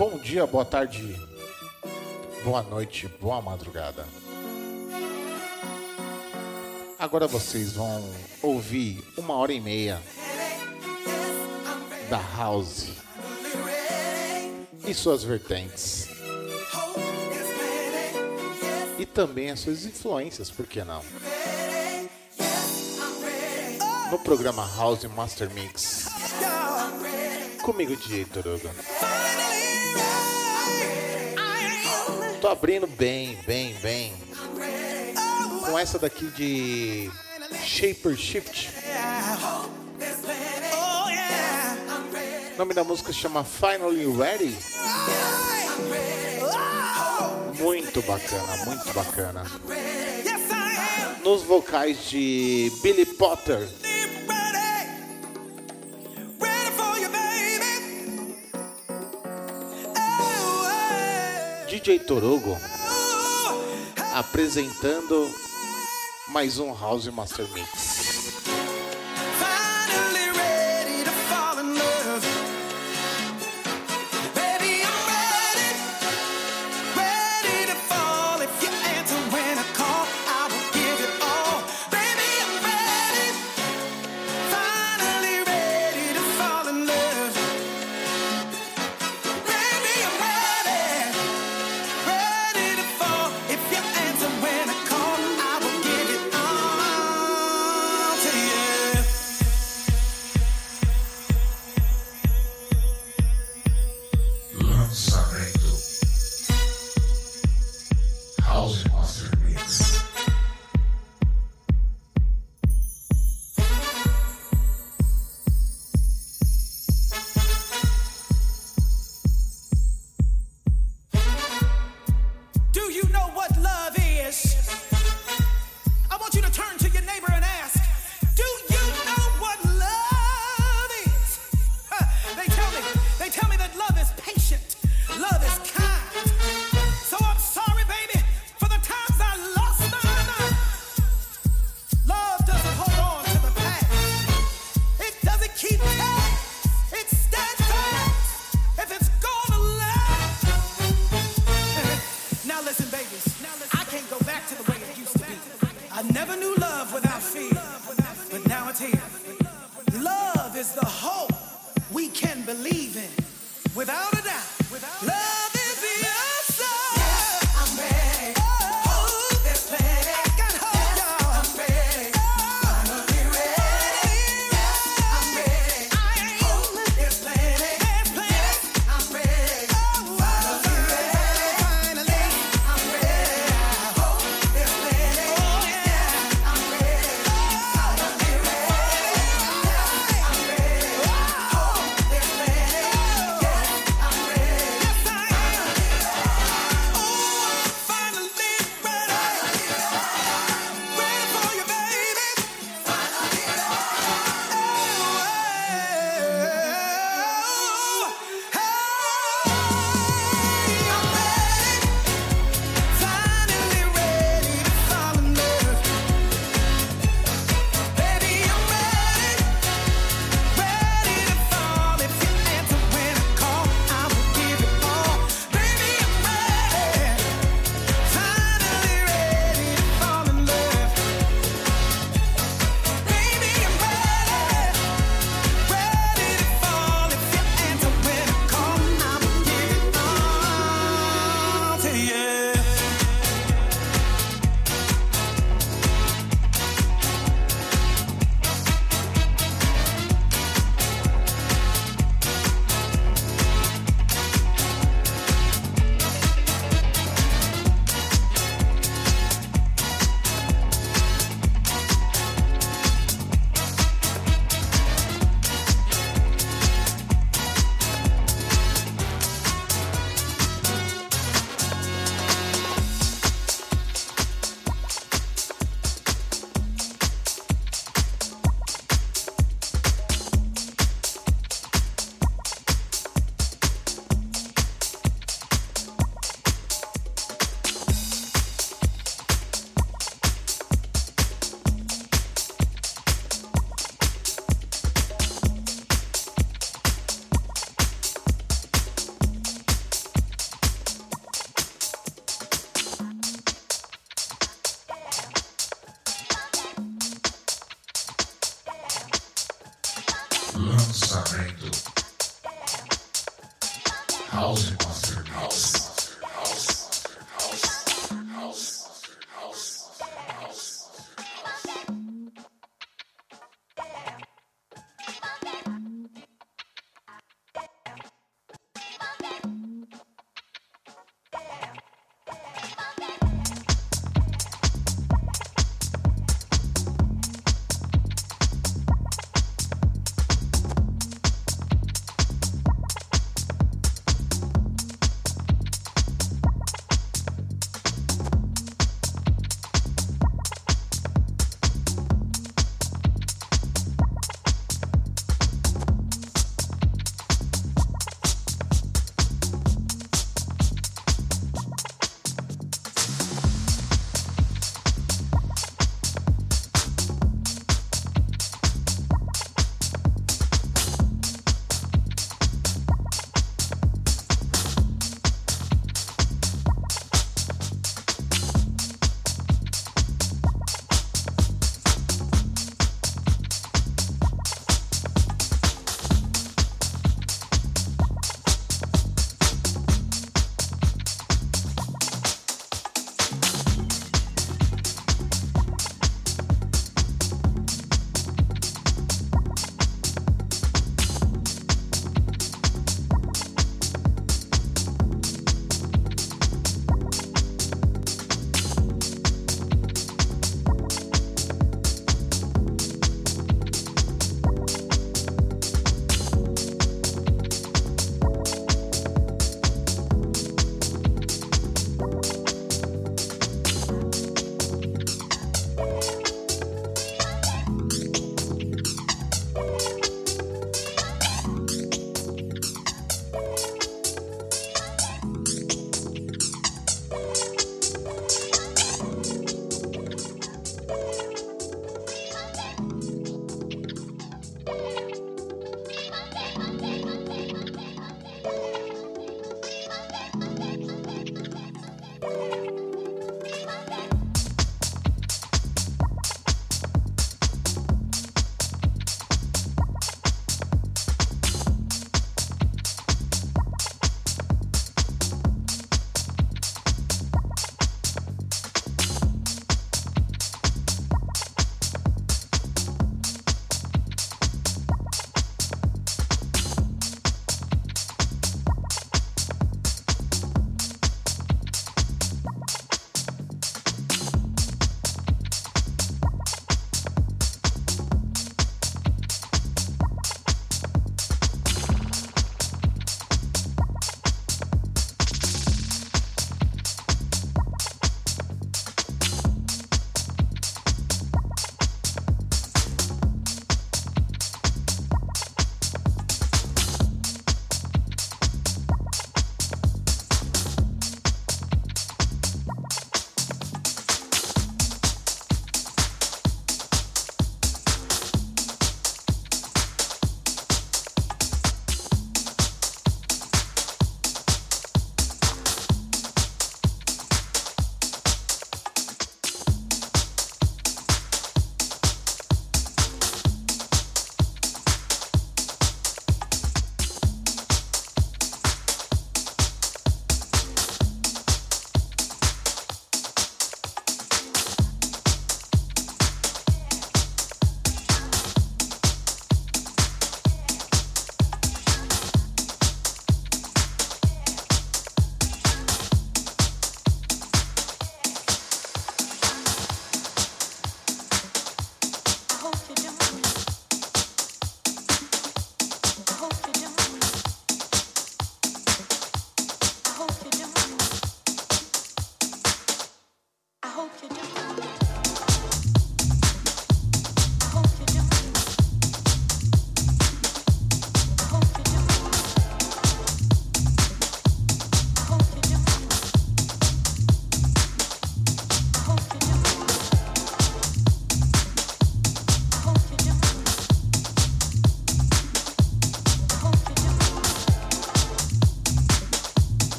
Bom dia, boa tarde, boa noite, boa madrugada. Agora vocês vão ouvir 1h30 da House e suas vertentes. E também as suas influências, por que não? No programa House Master Mix. Comigo, DJ Torugo. Tô abrindo bem. Com essa daqui de Shaper Shift. O nome da música se chama Finally Ready. Muito bacana. Nos vocais de Billy Potter. DJ Torugo apresentando mais um House Master Mix. Lançamento House Master House.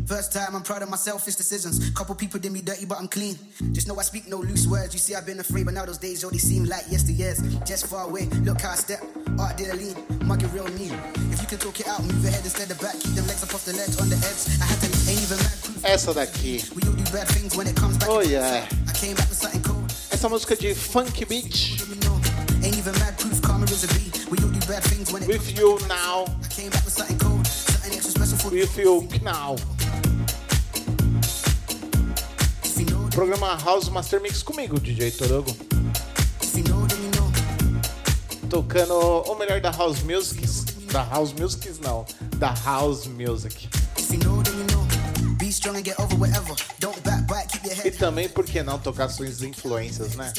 First time, I'm proud of my selfish decisions. Couple people did me dirty, but I'm clean. Just know I speak no loose words. You see, I've been afraid, but now those days already seem like yesteryears. Just far away, look how I step. Art did a lean, mug it real mean. If you can talk it out, move ahead instead of back. Keep them legs up off the ledge on the edge. I had to ain't even mad proof. Essa daqui. We all do bad things when it comes back. Oh yeah. I came back with something cold. Essa música de Funk Beach. Ain't even mad proof, karma is a B. We all do bad things when it With you now. I came back with something cold. Something extra special for With you now. Programa House Master Mix comigo, DJ Torugo. Tocando o melhor da House Music. Da House Music não. Da House Music. E também, por que não, tocar suas influências, né?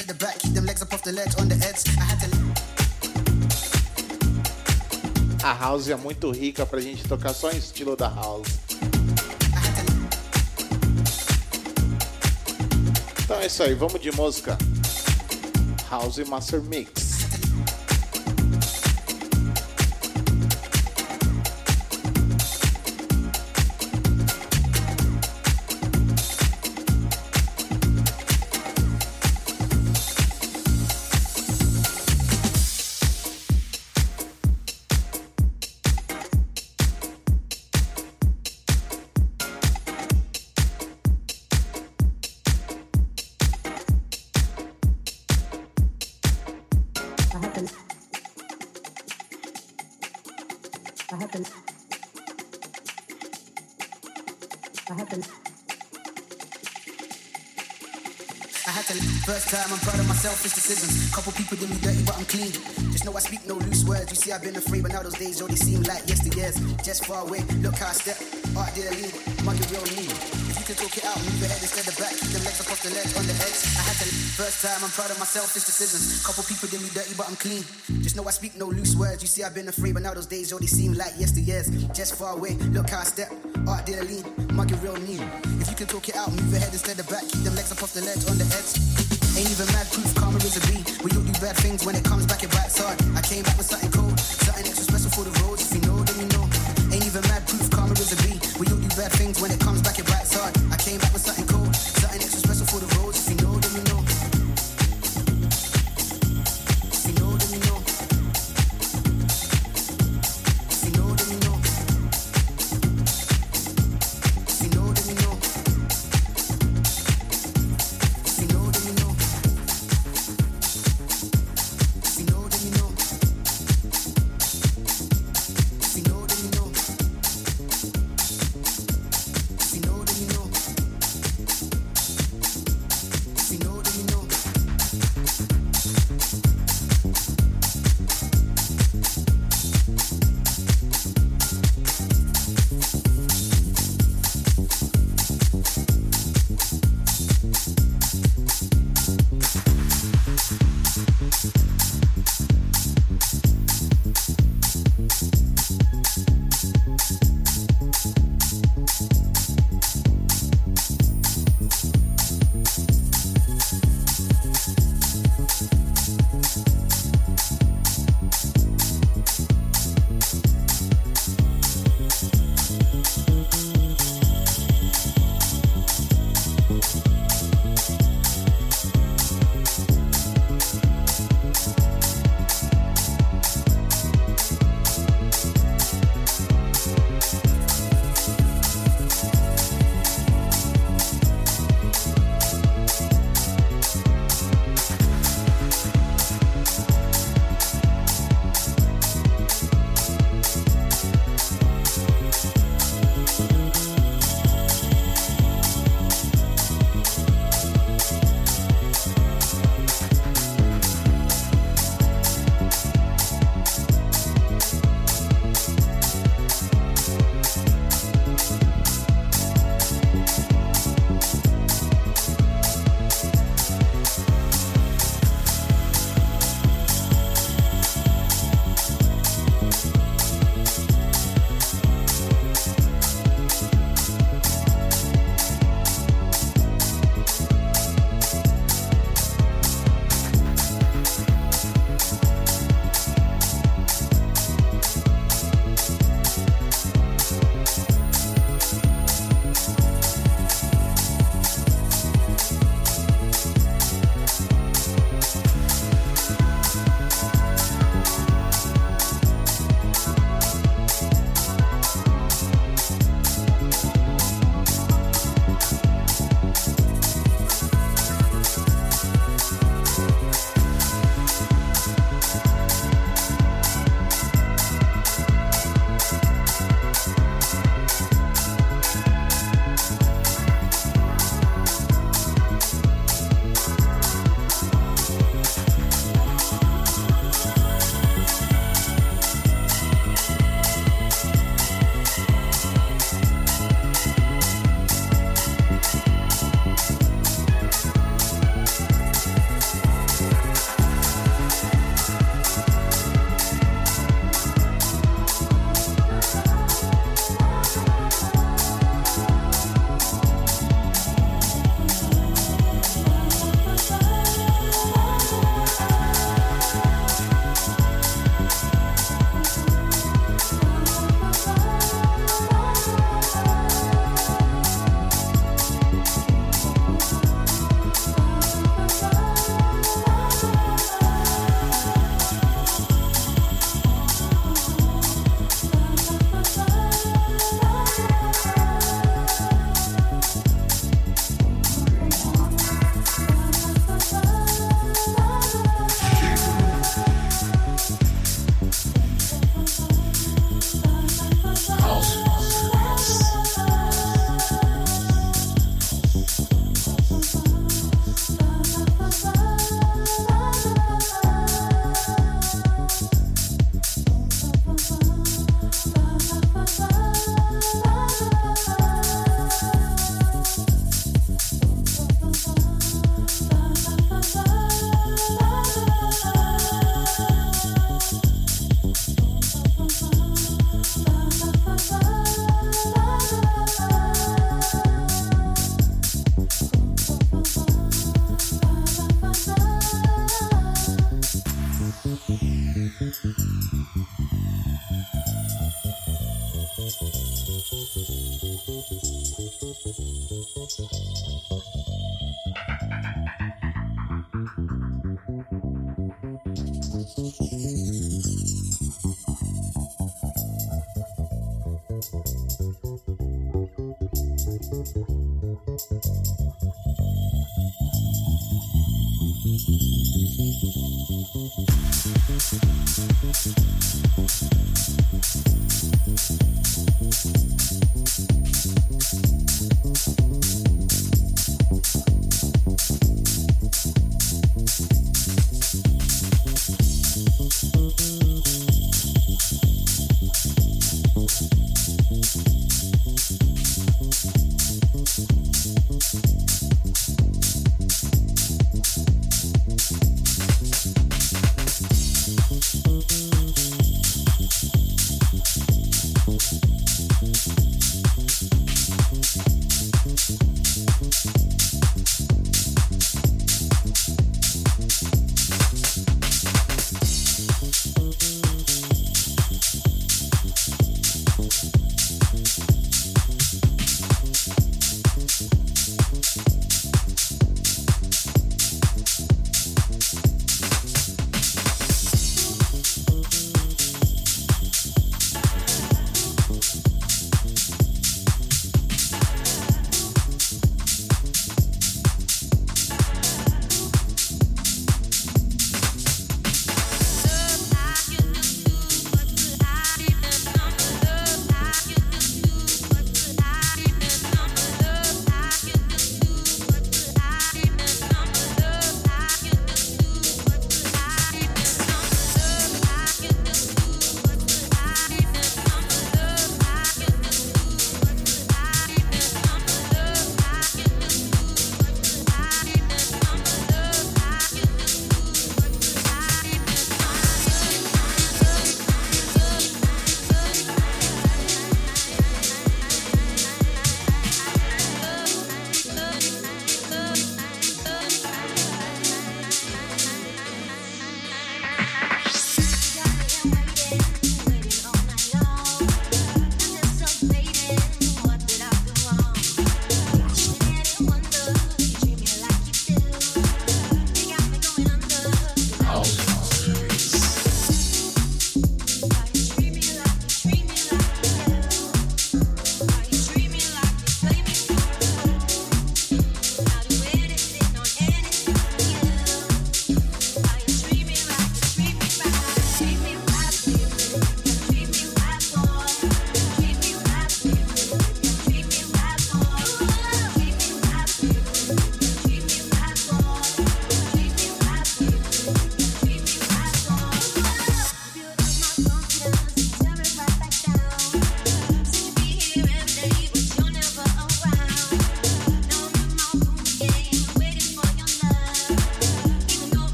A House é muito rica pra gente tocar só em estilo da House. Então é isso aí, vamos de música. House Master Mix. First time, I'm proud of my selfish decisions. Couple people did me dirty, but I'm clean. Just know I speak no loose words. You see, I've been afraid, but now those days already seem like yesteryears. Just far away, look how I step. Art did a lead, mug it real mean. If you can talk it out, move ahead instead of back. Keep them legs up off the ledge on the edge. I had to. First time, I'm proud of my selfish decisions. Couple people did me dirty, but I'm clean. Just know I speak no loose words. You see, I've been afraid, but now those days already seem like yesteryears. Just far away, look how I step. Art did a lead, mug it real mean. If you can talk it out, move ahead instead of back. Keep them legs up off the ledge on the edge. Ain't even mad proof, karma is a B. We all do bad things when it comes back, it bites hard. I came back with something cold, something extra special for the roads. If you know, then you know. Ain't even mad proof, karma is a B. We all do bad things when it comes back, it bites hard. I came back with something cold, something extra special for the roads. If you know, then you know. If you know, then you know. If you know, then you know. If you know, then you know.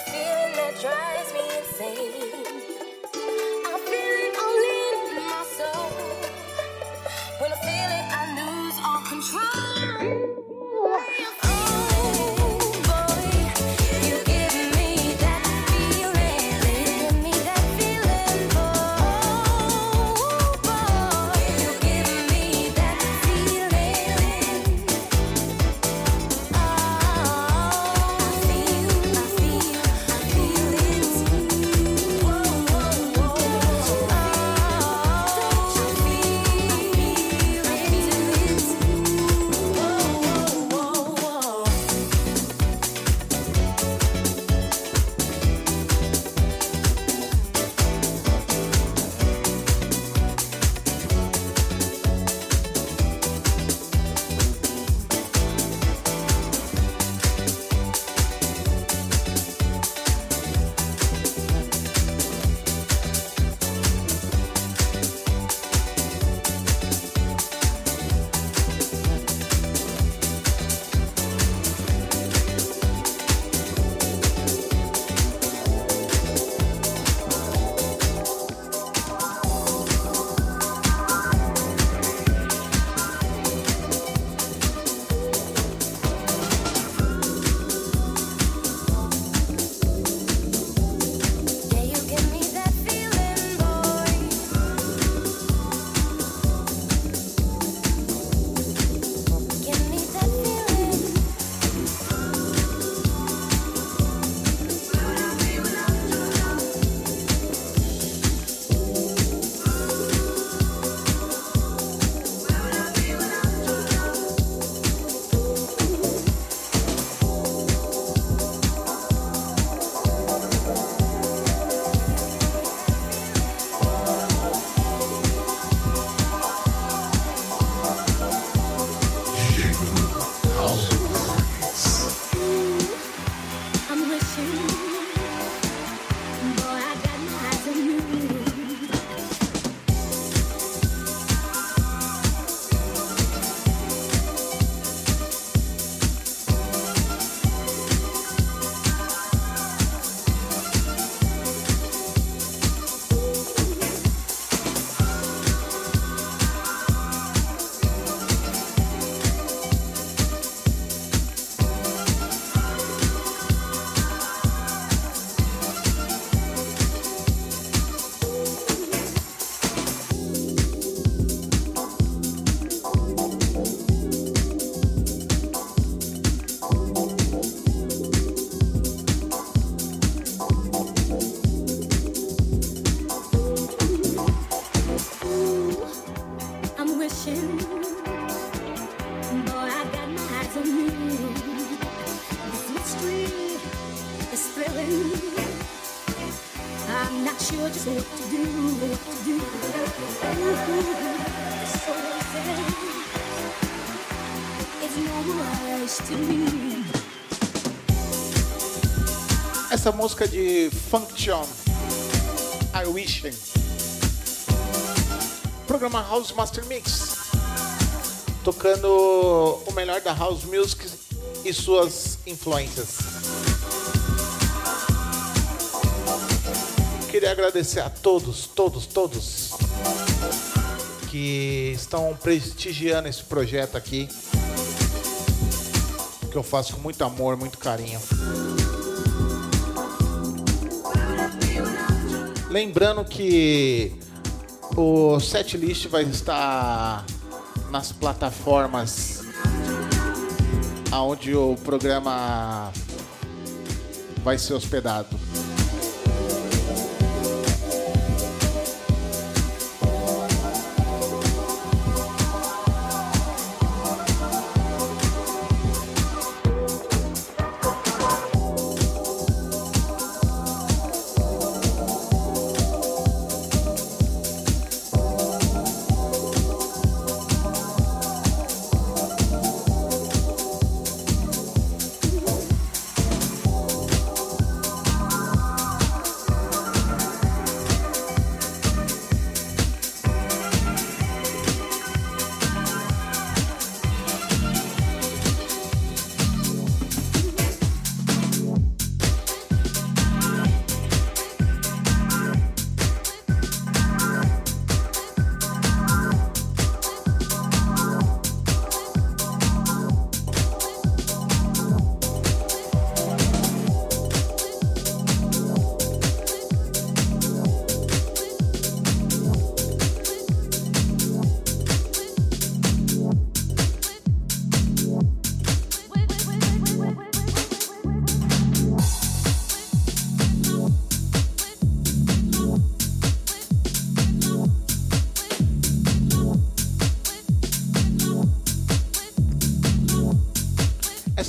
feeling that drives me insane. I feel it all in my soul. When I feel it, I lose all control. Essa música de Function, I Wish. Programa House Master Mix, tocando o melhor da House Music e suas influências. Queria agradecer a todos que estão prestigiando esse projeto aqui, que eu faço com muito amor, muito carinho. Lembrando que o setlist vai estar nas plataformas onde o programa vai ser hospedado.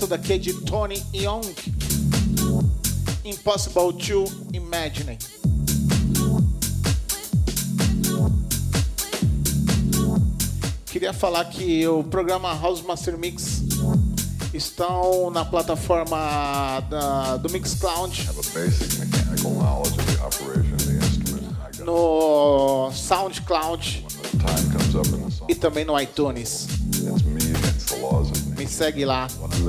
Essa daqui é de Tony Young. Impossible to Imagine. Queria falar que o programa House Master Mix estão na plataforma do Mixcloud, no SoundCloud e também no iTunes. Me segue lá.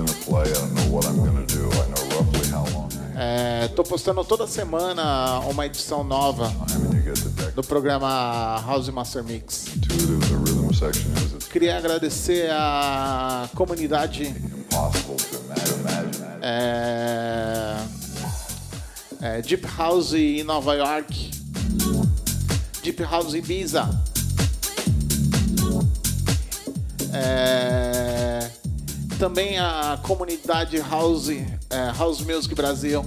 Tô postando toda semana uma edição nova do programa House Master Mix. Queria agradecer a comunidade Deep House em Nova York, Deep House Ibiza, também a comunidade House Music Brasil.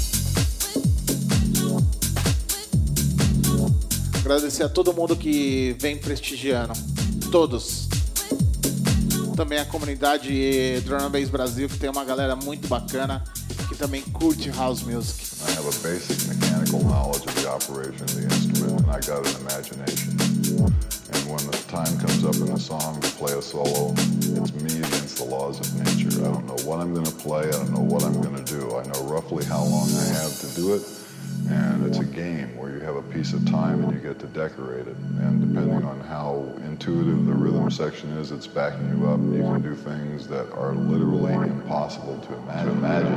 Agradecer a todo mundo que vem prestigiando, todos. Também a comunidade Drum and Bass Brasil, que tem uma galera muito bacana que também curte House Music. I have a basic mechanical knowledge of the operation of the instrument, and I got an imagination. And when the time comes up in a song to play a solo, it's me against the laws of nature. I don't know what I'm going to play, I don't know what I'm going to do. I know roughly how long I have to do it, and it's a game where you have a piece of time and you get to decorate it. And depending on how intuitive the rhythm section is, it's backing you up. You can do things that are literally impossible to imagine.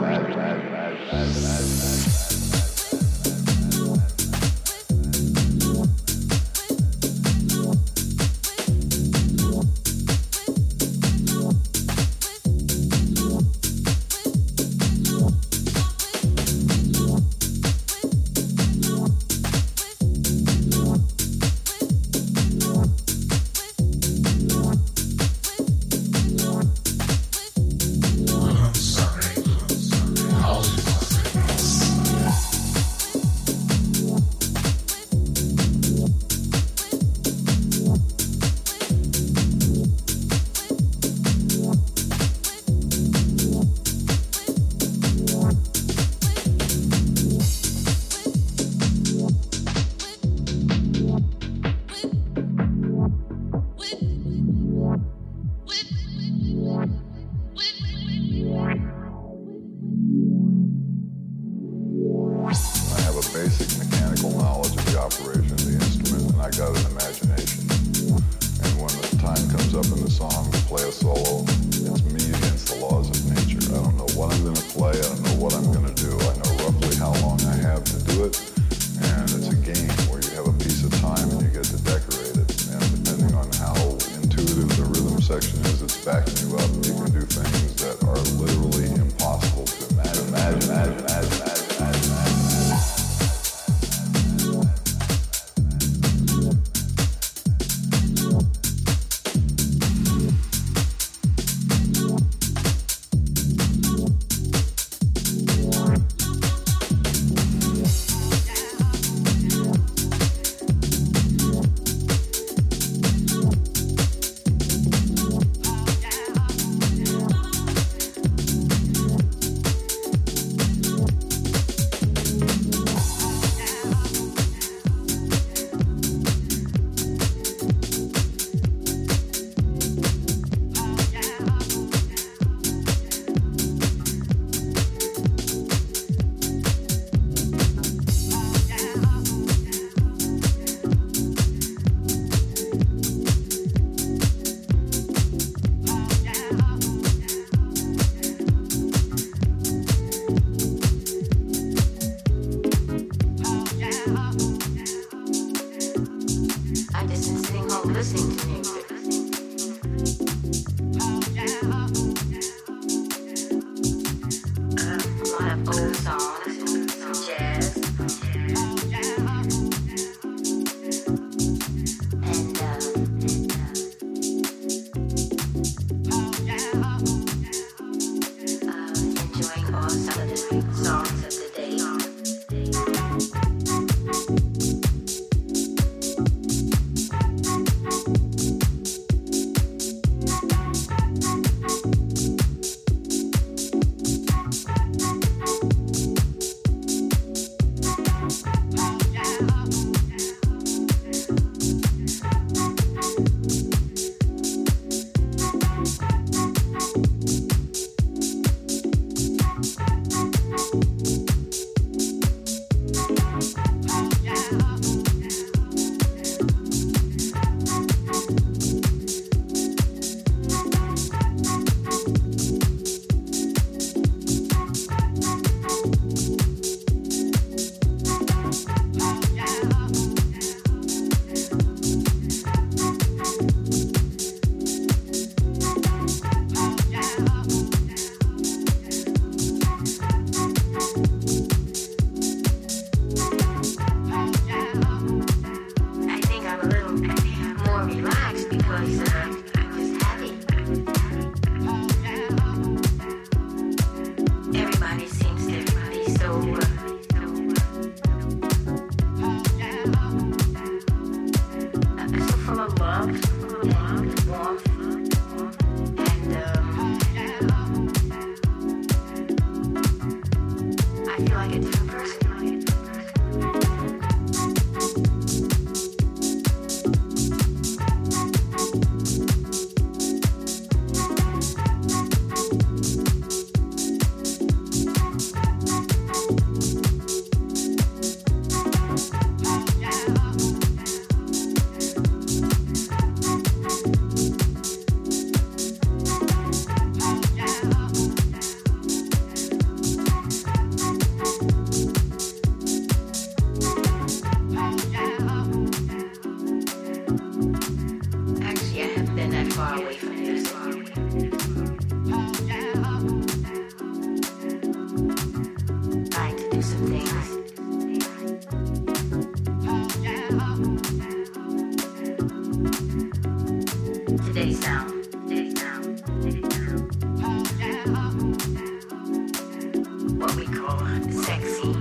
Today's sound. What we call sexy.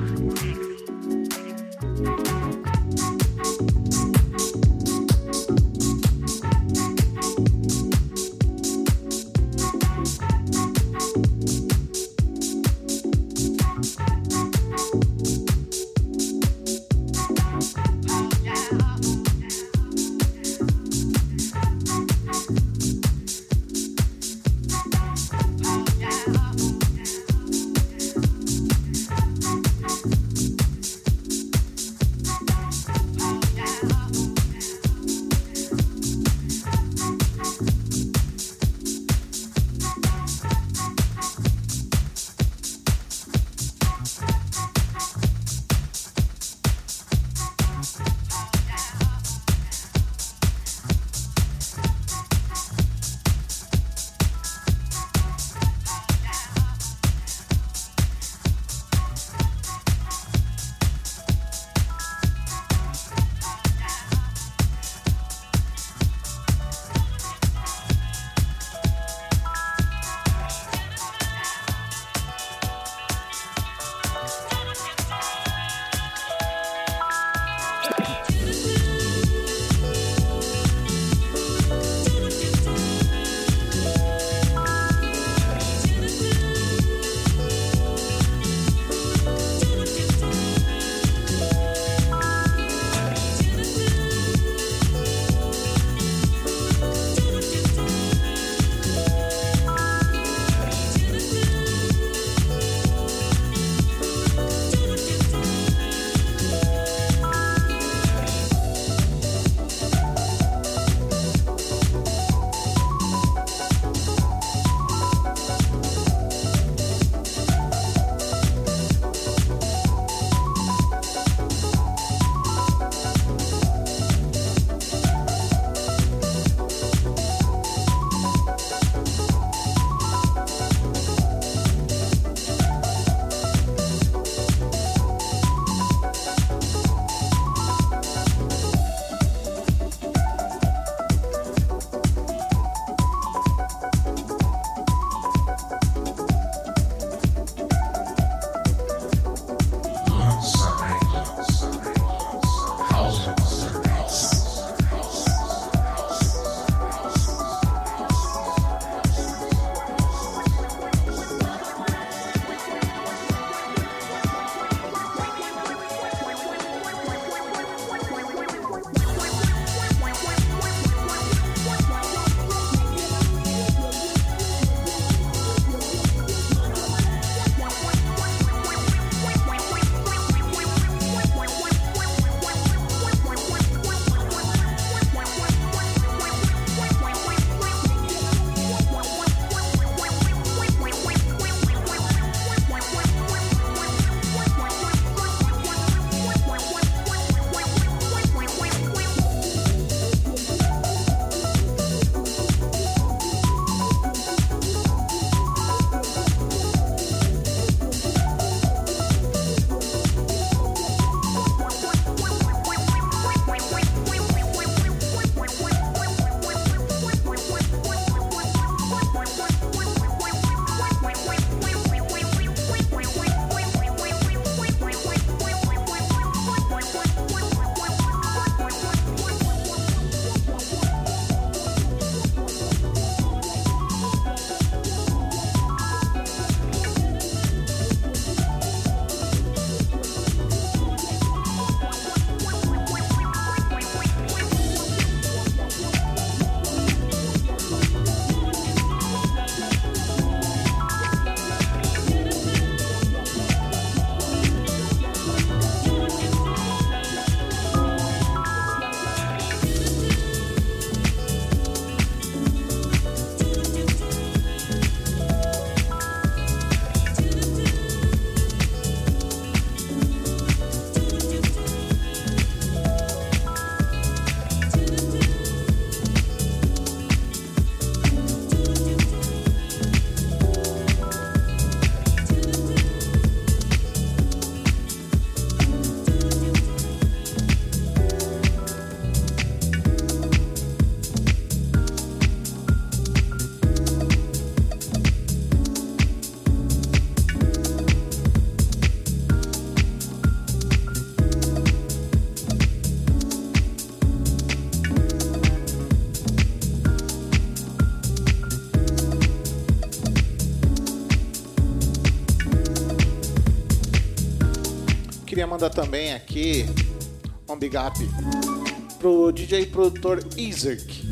mandar também aqui um big up pro DJ produtor Isaac.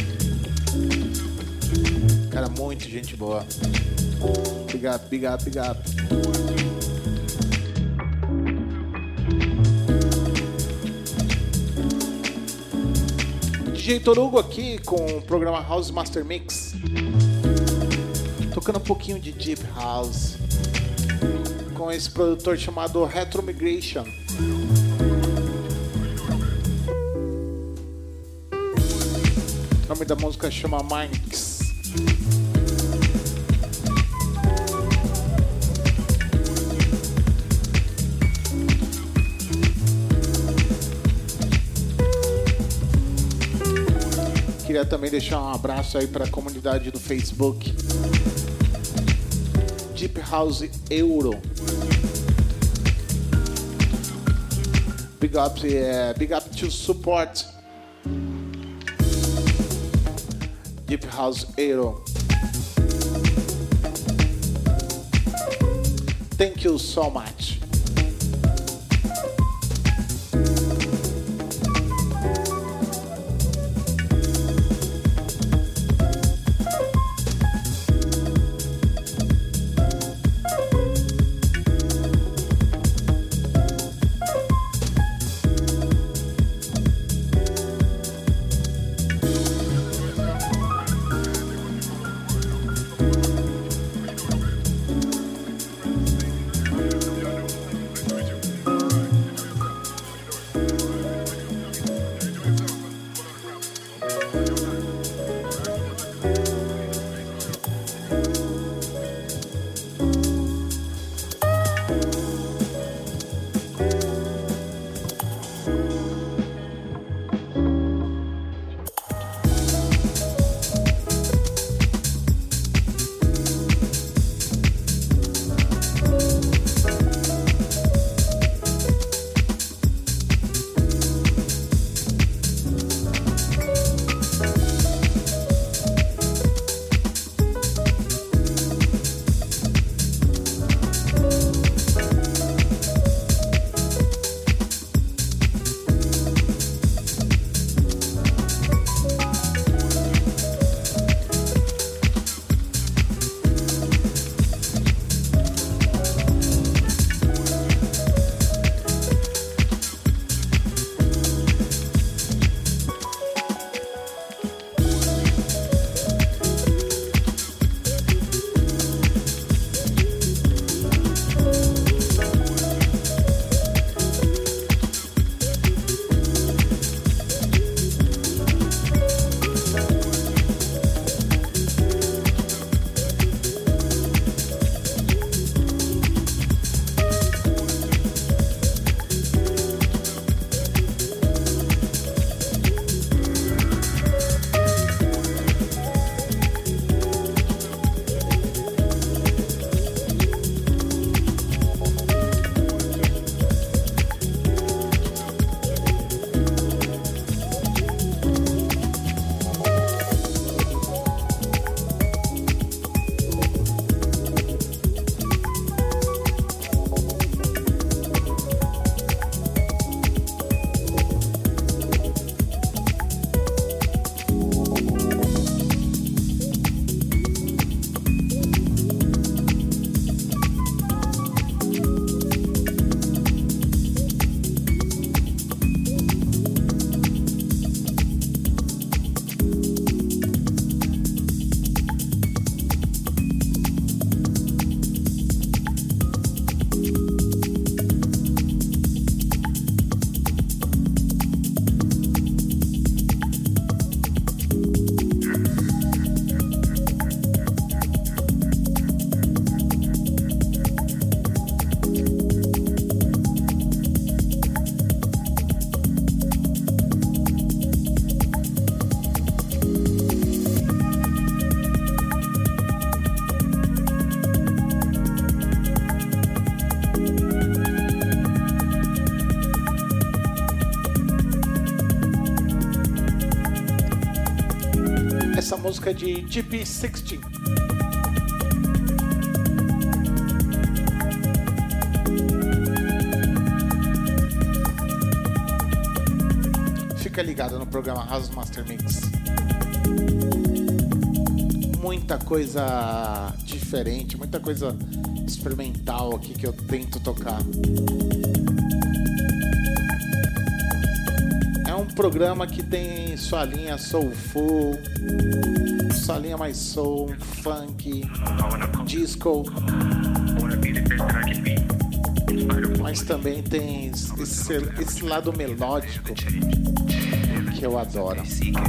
Cara, muito gente boa. Big up, big up, big up. DJ Torugo aqui com o programa House Master Mix. Tocando um pouquinho de Deep House com esse produtor chamado Retro Migration. O nome da música chama Minds. Queria também deixar um abraço aí para a comunidade do Facebook Deep House Euro. Big up to support Deep House Euro. Thank you so much. Essa música de GP16. Fica ligado no programa House Master Mix. Muita coisa diferente, muita coisa experimental aqui que eu tento tocar. É um programa que tem sua linha soulful, sua linha mais soul, funk, disco, mas também tem esse lado melódico que eu adoro.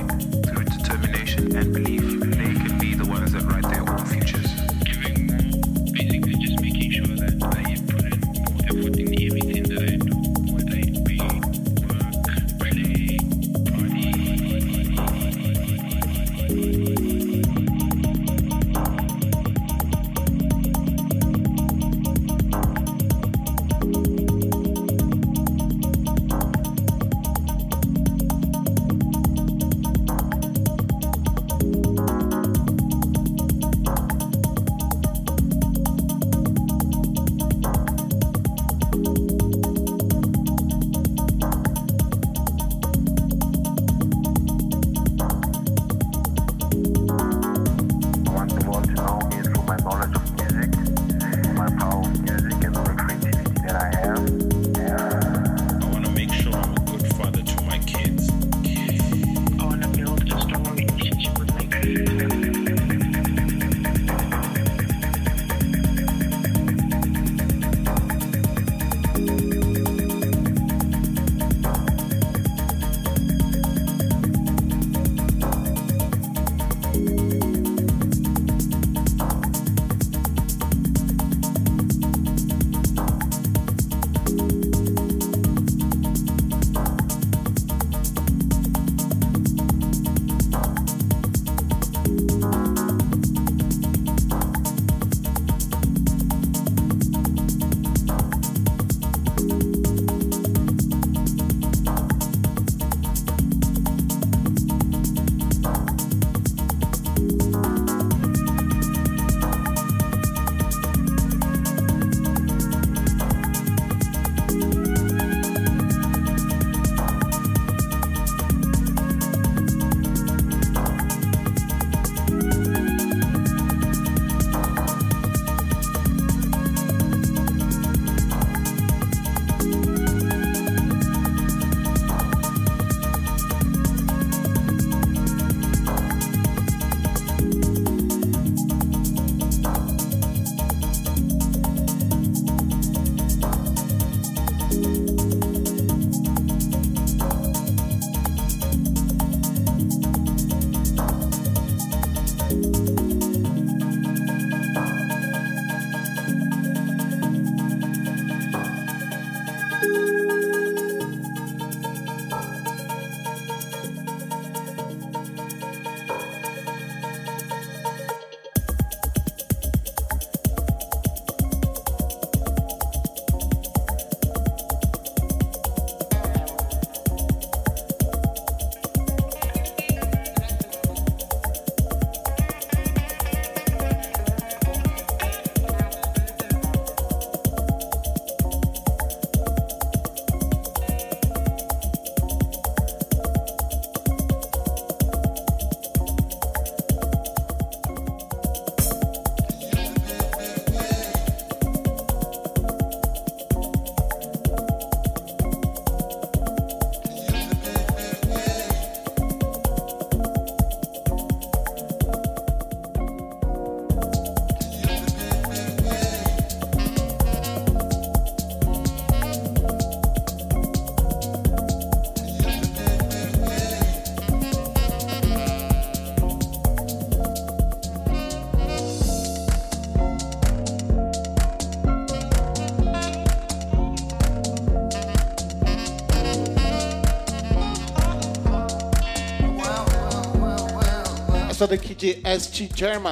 Essa daqui de ST German,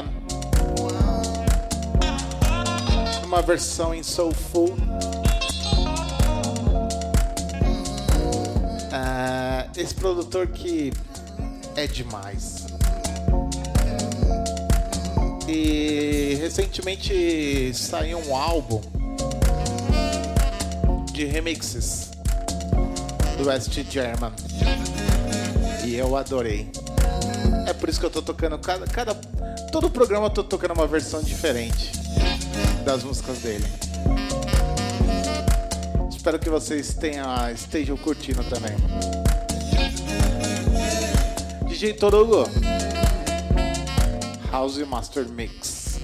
uma versão em soulful. Esse produtor que é demais. E recentemente saiu um álbum de remixes do ST German. que eu adorei. É por isso que eu tô tocando todo programa eu tô tocando uma versão diferente das músicas dele. Espero que vocês estejam curtindo também. DJ Torugo, House Master Mix.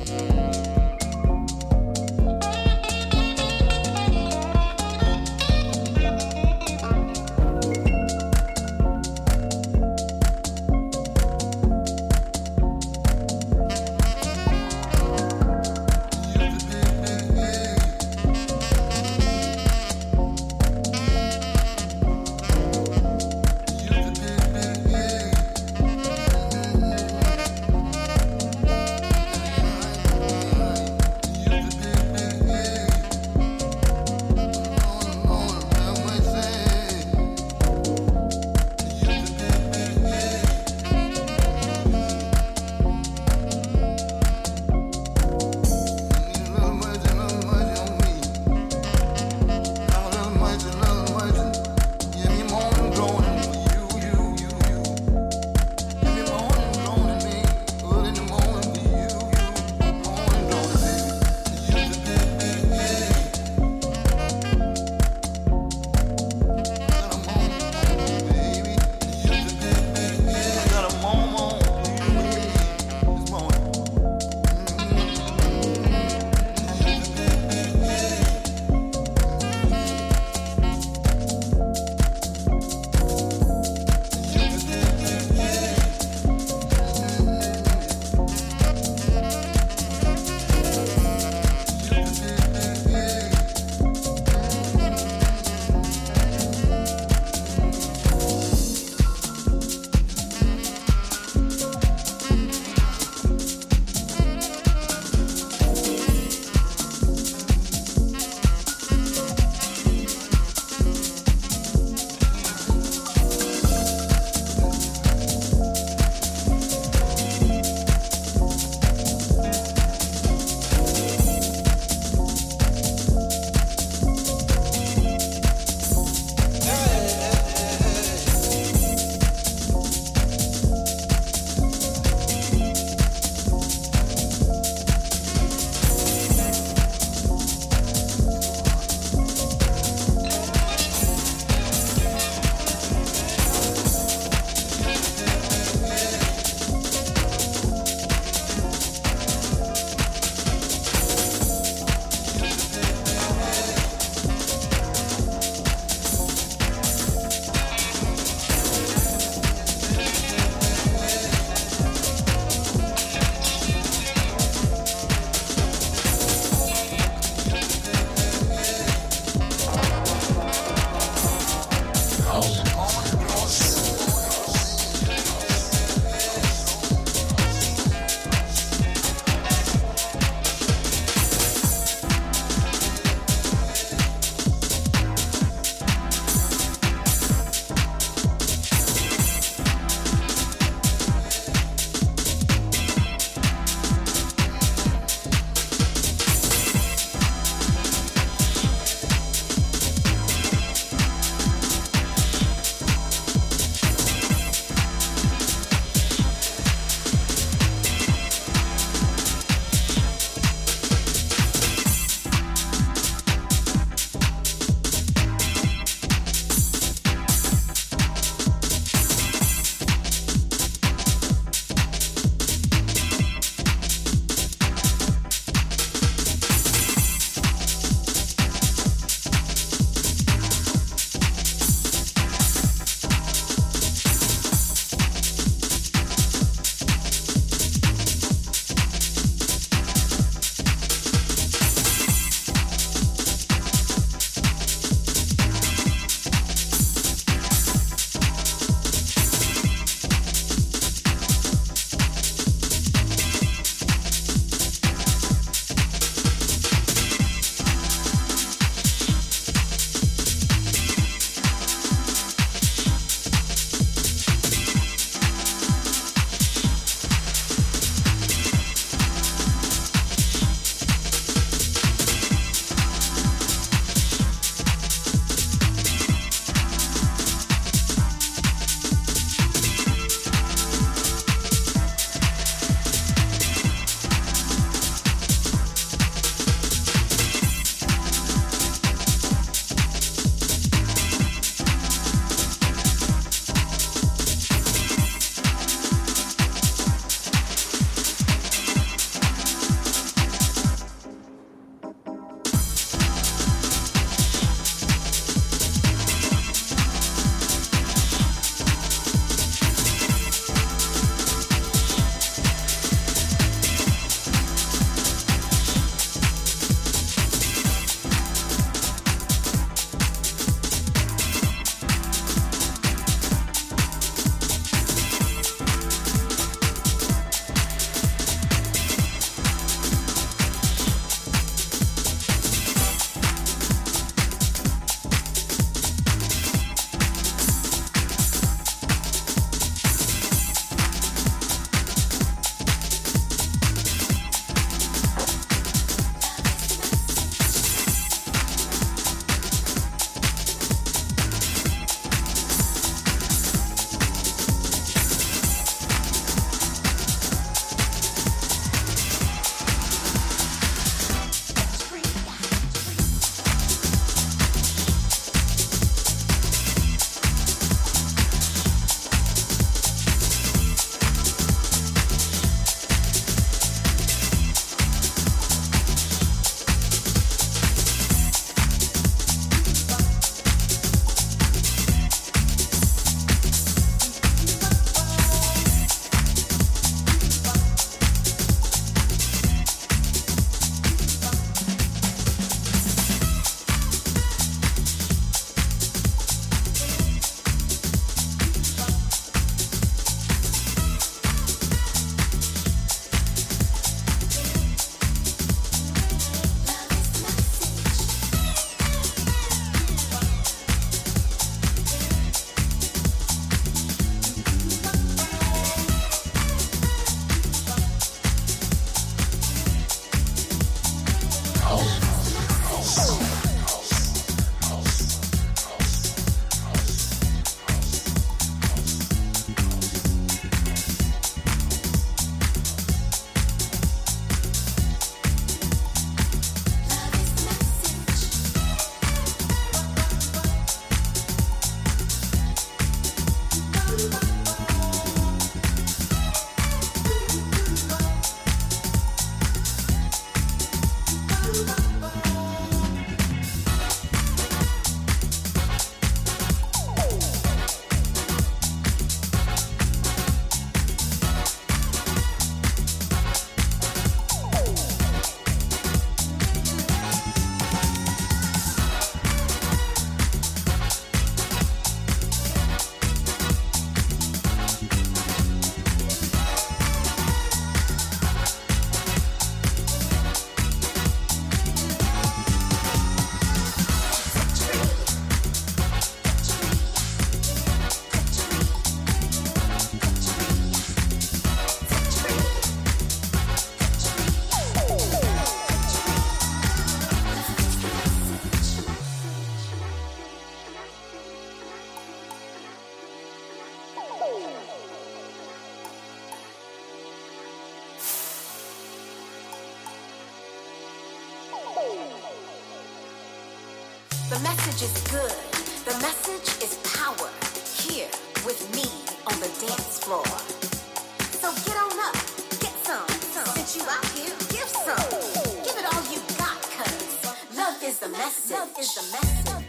The message is good. The message is power. Here with me on the dance floor. So get on up, get some. Since you out here, give some. Give it all you got, cause love is the message. Love is the message.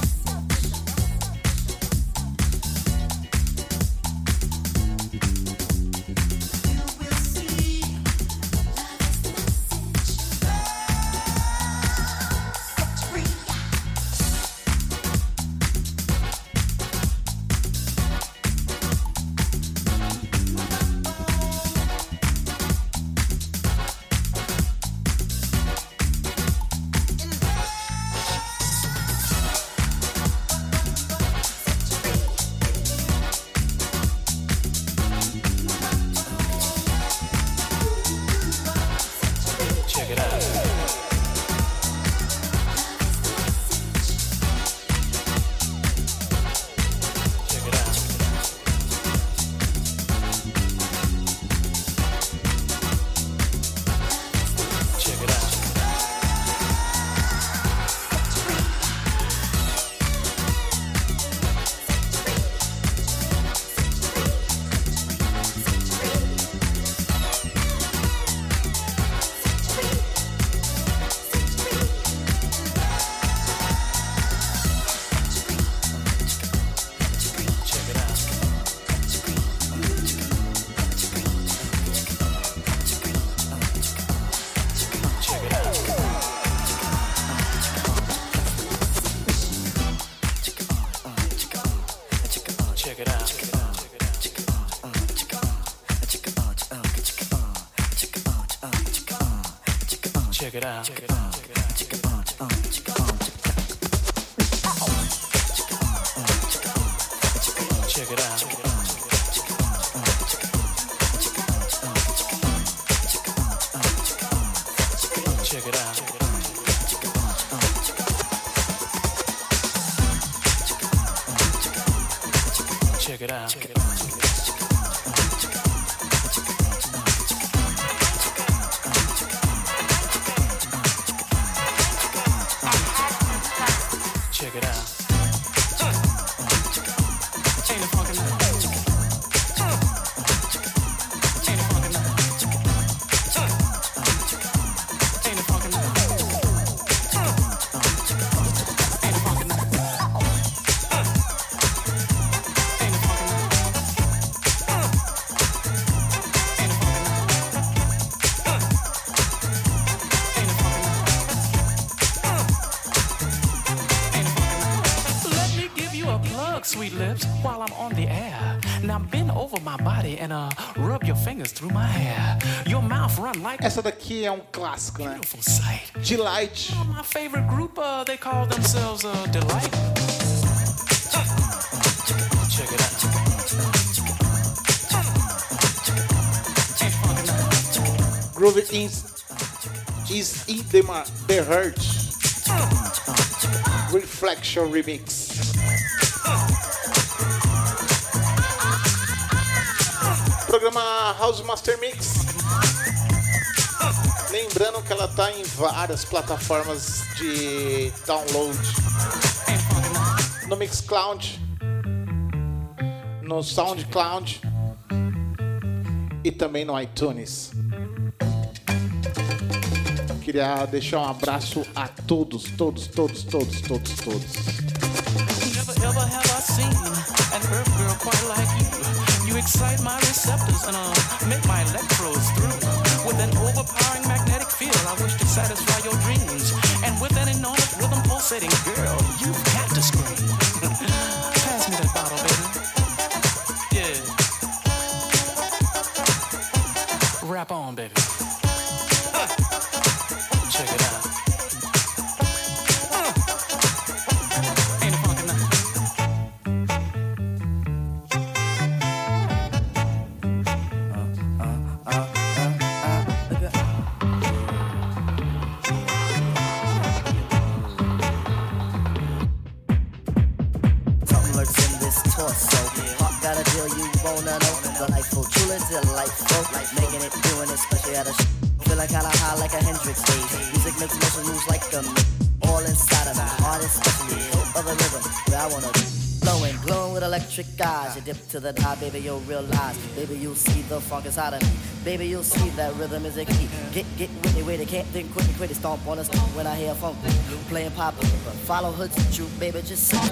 Check it out. Check it out. Check it out. Check it out. Check it out. Ain't it funky now? Ain't it funky now? Ain't it funky now? Ain't it funky now? Ain't it funky now? Sweet lips, while I'm on the air. Now bend over my body and rub your fingers through my hair. Your mouth run like. Essa daqui é um clássico, né? Beautiful sight. Delight. My favorite group, they call themselves Delight. Check it out. Groove is in the heart. Reflection Remix. Programa House Master Mix. Lembrando que ela tá em várias plataformas de download. No Mixcloud, no Soundcloud e também no iTunes. Queria deixar um abraço a todos. Ever have I seen an earth girl quite like you? You excite my receptors and make my electrodes through. With an overpowering magnetic field, I wish to satisfy your dreams. And with an enormous rhythm pulsating, girl, you've got to scream. Pass me that bottle, baby. Yeah. Rap on, baby. Check it out. Delightful, like making it, doing it, especially at a feel like kinda high like a Hendrix stage. Music makes motion moves like a all inside of me. Art especially, of the rhythm, where I wanna be. Flowing, glowing with electric eyes. You dip to the top, baby, you'll realize. Baby, you'll see the funk inside of me. Baby, you'll see that rhythm is a key. Get with it, with it, can't think, quit it, stomp on the stick when I hear funk. Playing pop, but follow hoods with you, baby, just sit.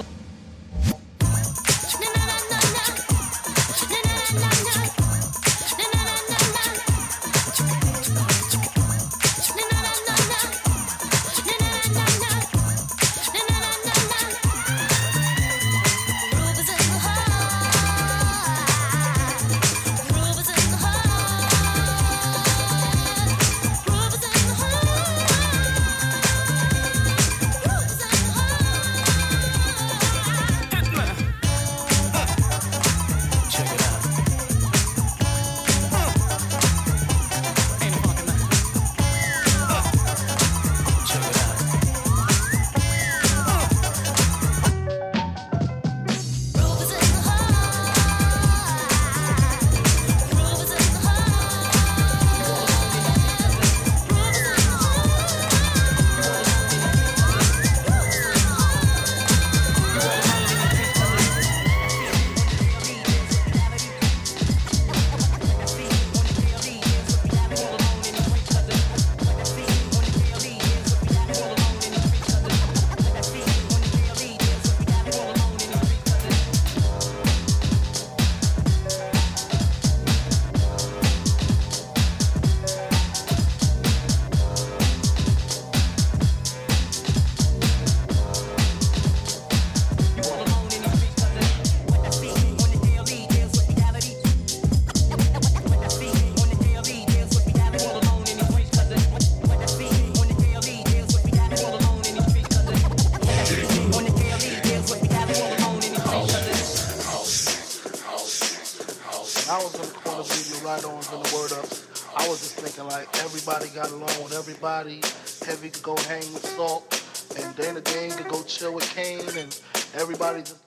Everybody got along with everybody. Heavy could go hang with Salt, and Dana Dane could go chill with Kane, and everybody just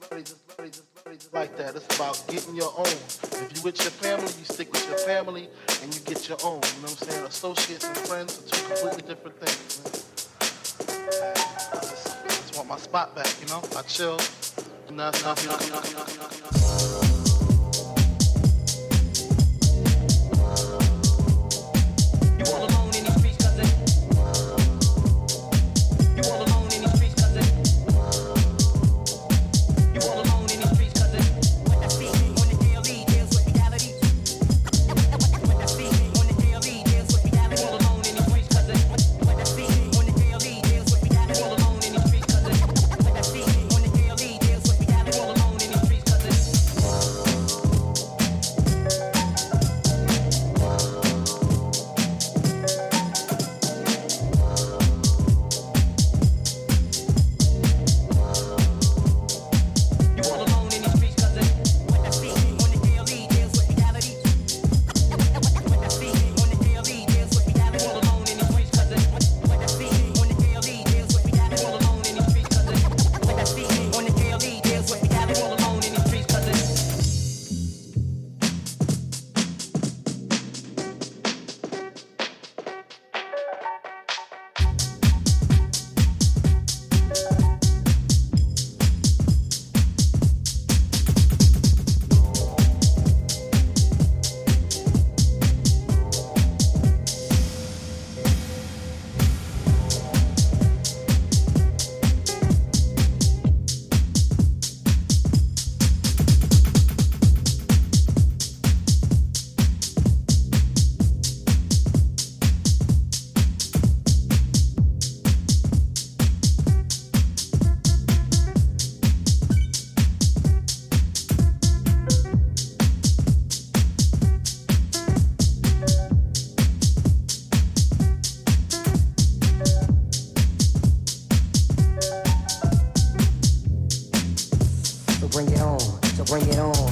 like that. It's about getting your own. If you with your family, you stick with your family, and you get your own. You know what I'm saying? Associates and friends are two completely different things. I just want my spot back, you know? I chill. bring it on.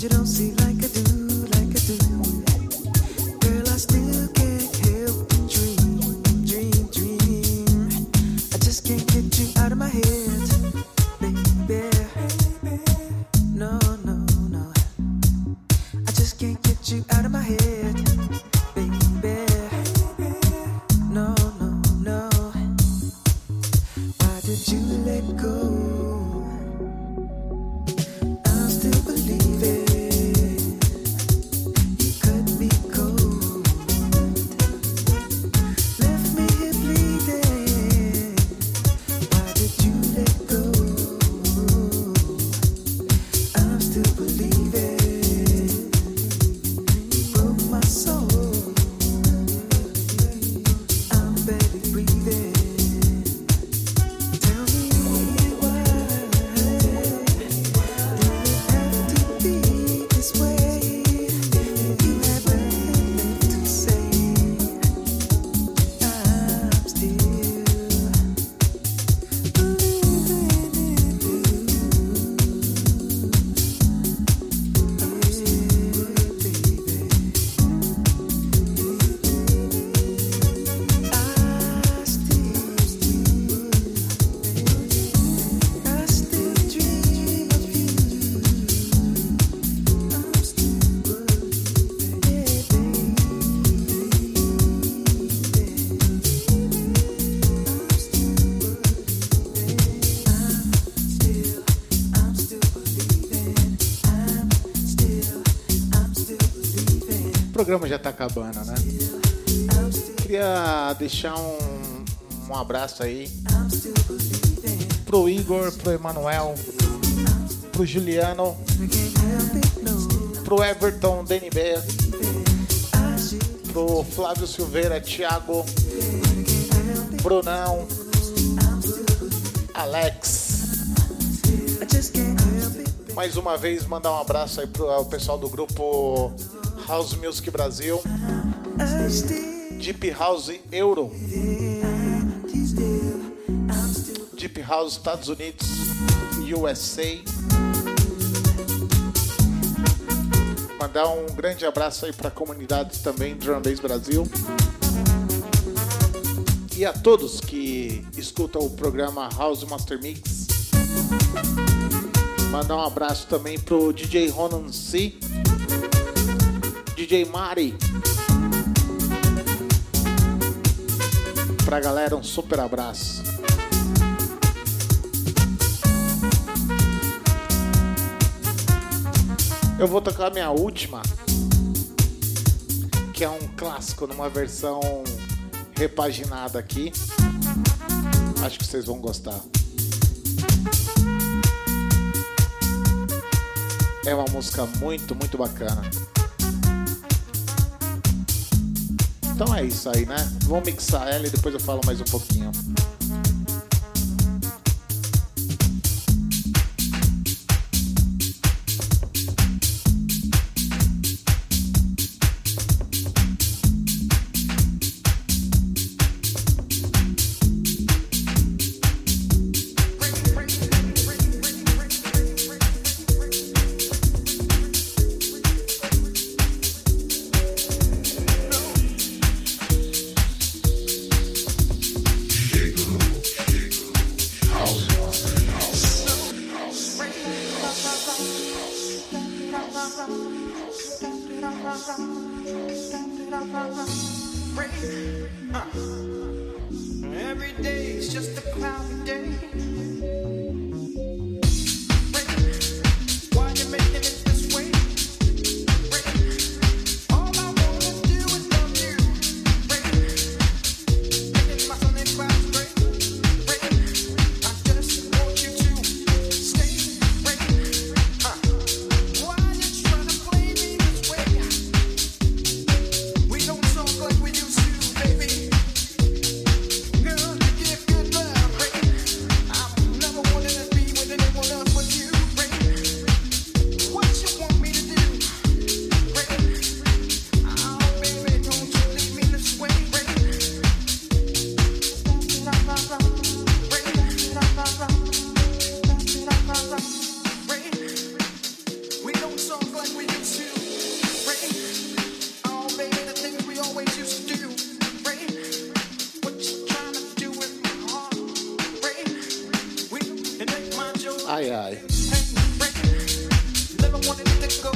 you don't see like I do, like I do. Girl, I still can't help but dream. I just can't get you out of my head, baby. No. I just can't get you out of my head, baby. No. Why did you let go? I'm still believing. You cut me cold, left me here bleeding. Why did you let go? I'm still believing. You broke my soul. I'm barely breathing. Tell me why did it have to be this way? You have nothing left to say. I'm still believing I still dream of you. I'm still O programa já tá acabando, né? Queria deixar um abraço aí pro Igor, pro Emanuel, pro Juliano, pro Everton DNB, pro Flávio Silveira, Thiago, Brunão, Alex. Mais uma vez mandar um abraço aí pro pessoal do grupo House Music Brasil, Deep House Euro, Deep House Estados Unidos, USA. Mandar um grande abraço aí para a comunidade também Drum Bass Brasil e a todos que escutam o programa House Master Mix. Mandar um abraço também pro DJ Ronan C, DJ Mari. Pra galera, um super abraço. Eu vou tocar a minha última, que é um clássico numa versão repaginada aqui. Acho que vocês vão gostar. É uma música muito, muito bacana. Então é isso aí, né? Vamos mixar ela e depois eu falo mais um pouquinho. Every day is just a cloudy day. Why you making it this way? All I wanna do is love you. Making my sunny clouds gray. I just want you to stay. Why you trying to play me this way? We don't talk like we used to, baby. Girl, you give good love, baby. I never wanted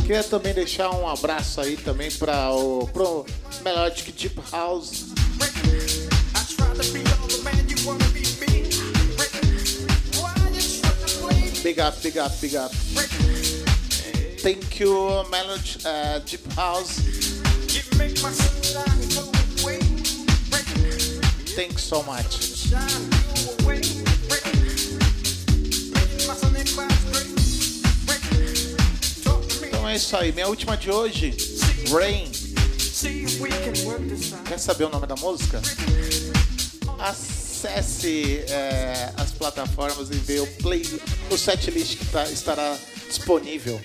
Queria também deixar um abraço aí também para pro Melodic Deep House. Big up, big up, big up. Thank you, Melodic Deep House. Thanks so much. Então é isso aí, minha última de hoje, Rain. Quer saber o nome da música? Acesse as plataformas e vê o setlist que estará disponível.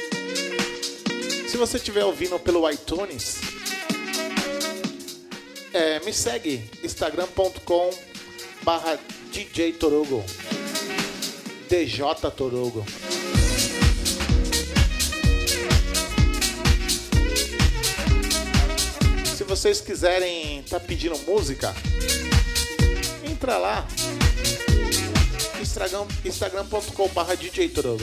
Se você estiver ouvindo pelo iTunes, me segue, instagram.com/DJ Torugo, DJ Torugo. Se vocês quiserem estar pedindo música, entra lá, instagram.com/DJ Torugo.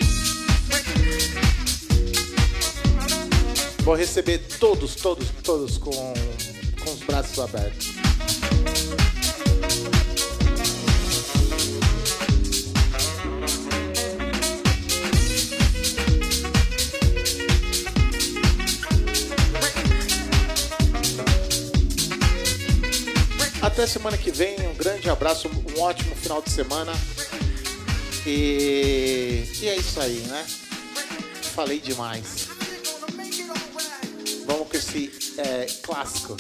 Vou receber todos com os braços abertos. Até semana que vem, um grande abraço, um ótimo final de semana. E é isso aí, né? Falei demais. Vamos com esse clássico.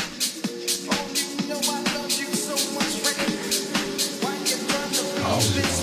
House.